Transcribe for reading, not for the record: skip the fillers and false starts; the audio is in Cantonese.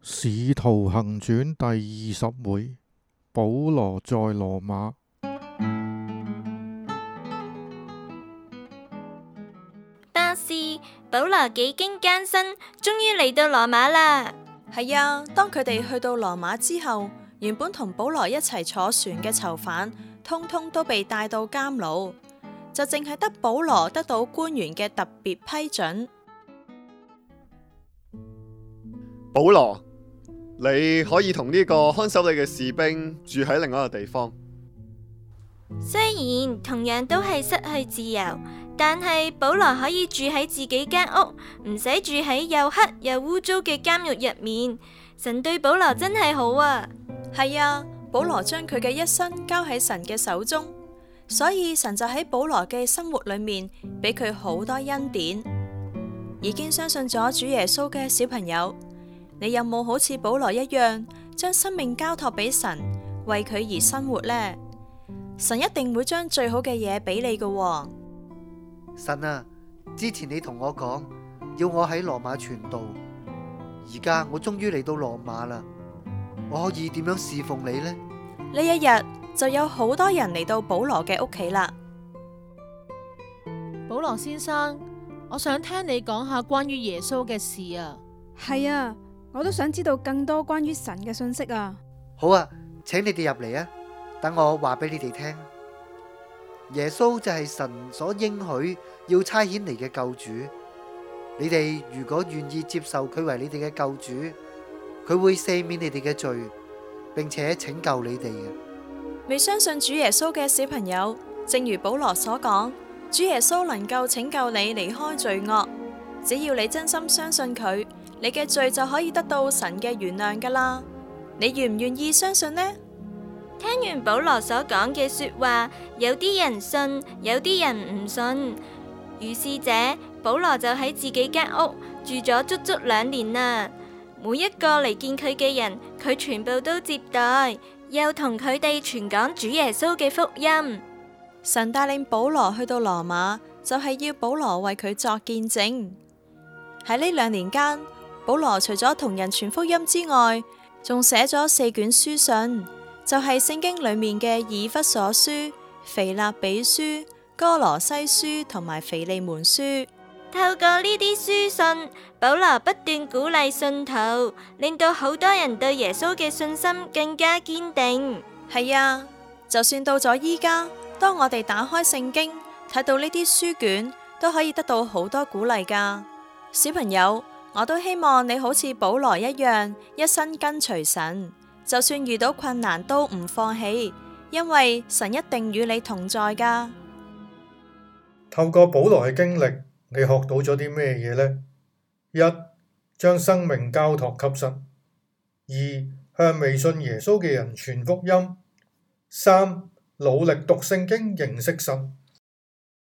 使徒行傳第20回，保羅在羅馬。 巴士，保羅幾經艱辛，終於嚟到羅馬啦。 係啊，當佢哋去到羅馬之後，原本同保羅一齊坐船嘅囚犯，通通都被帶到監牢，就淨係得保羅得到官員嘅特別批准。 保羅，你可以同呢個看守你嘅士兵住喺另一個地方。 雖然同樣都係失去自由，但係保羅可以住喺自己間屋，唔使住喺又黑又污糟嘅監獄入面。神對保羅真係好啊！ 係啊，保羅將佢嘅一生交喺神嘅手中，所以神就喺保羅嘅生活裏面俾佢好多恩典。已經相信咗主耶穌嘅小朋友，你有冇好似保羅一樣，將生命交託俾神，為佢而生活呢？神一定會將最好嘅嘢俾你㗎喎。 神啊，之前你同我講要我喺羅馬傳道，而家我終於嚟到羅馬啦，我可以點樣侍奉你呢？ 呢一日就有好多人嚟到保羅嘅屋企啦。 保羅先生，我想聽你講下關於耶穌嘅事啊。 係啊，我都想知道更多關於神嘅信息啊。 好啊，請你哋入嚟啊，等我話俾你哋聽。耶穌就係神所應許要差遣嚟嘅救主。你哋如果願意接受佢為你哋嘅救主，佢會赦免你哋嘅罪，並且拯救你哋嘅。 未相信主耶穌嘅小朋友，正如保羅所講，主耶穌能夠拯救你離開罪惡。只要你真心相信佢，你嘅罪就可以得到神嘅原諒噶啦。你願唔願意相信呢？ 聽完保羅所講嘅說話，有啲人信，有啲人唔信。於是者，保羅就喺自己間屋住咗足足2年啦。每一個嚟見佢嘅人，佢全部都接待，又同佢哋傳講主耶穌嘅福音。 神帶領保羅去到羅馬，就係要保羅為佢作見證。喺呢2年間，保羅除咗同人傳福音之外，仲寫咗4卷書信，就係聖經裏面嘅以弗所書、腓立比書、哥羅西書同埋腓利門書。 透過呢啲書信，保羅不斷鼓勵信徒，令到好多人對耶穌嘅信心更加堅定。 係啊，就算到咗依家，當我哋打開聖經，睇到呢啲書卷，都可以得到好多鼓勵噶。小朋友，我都希望你好似保羅一樣，一生跟隨神，就算遇到困難都唔放棄，因為神一定與你同在噶。 透過保羅嘅經歷，你學到咗啲咩嘢呢？1. 將生命交託給神。2. 向未信耶穌嘅人傳福音。3. 努力讀聖經，認識神。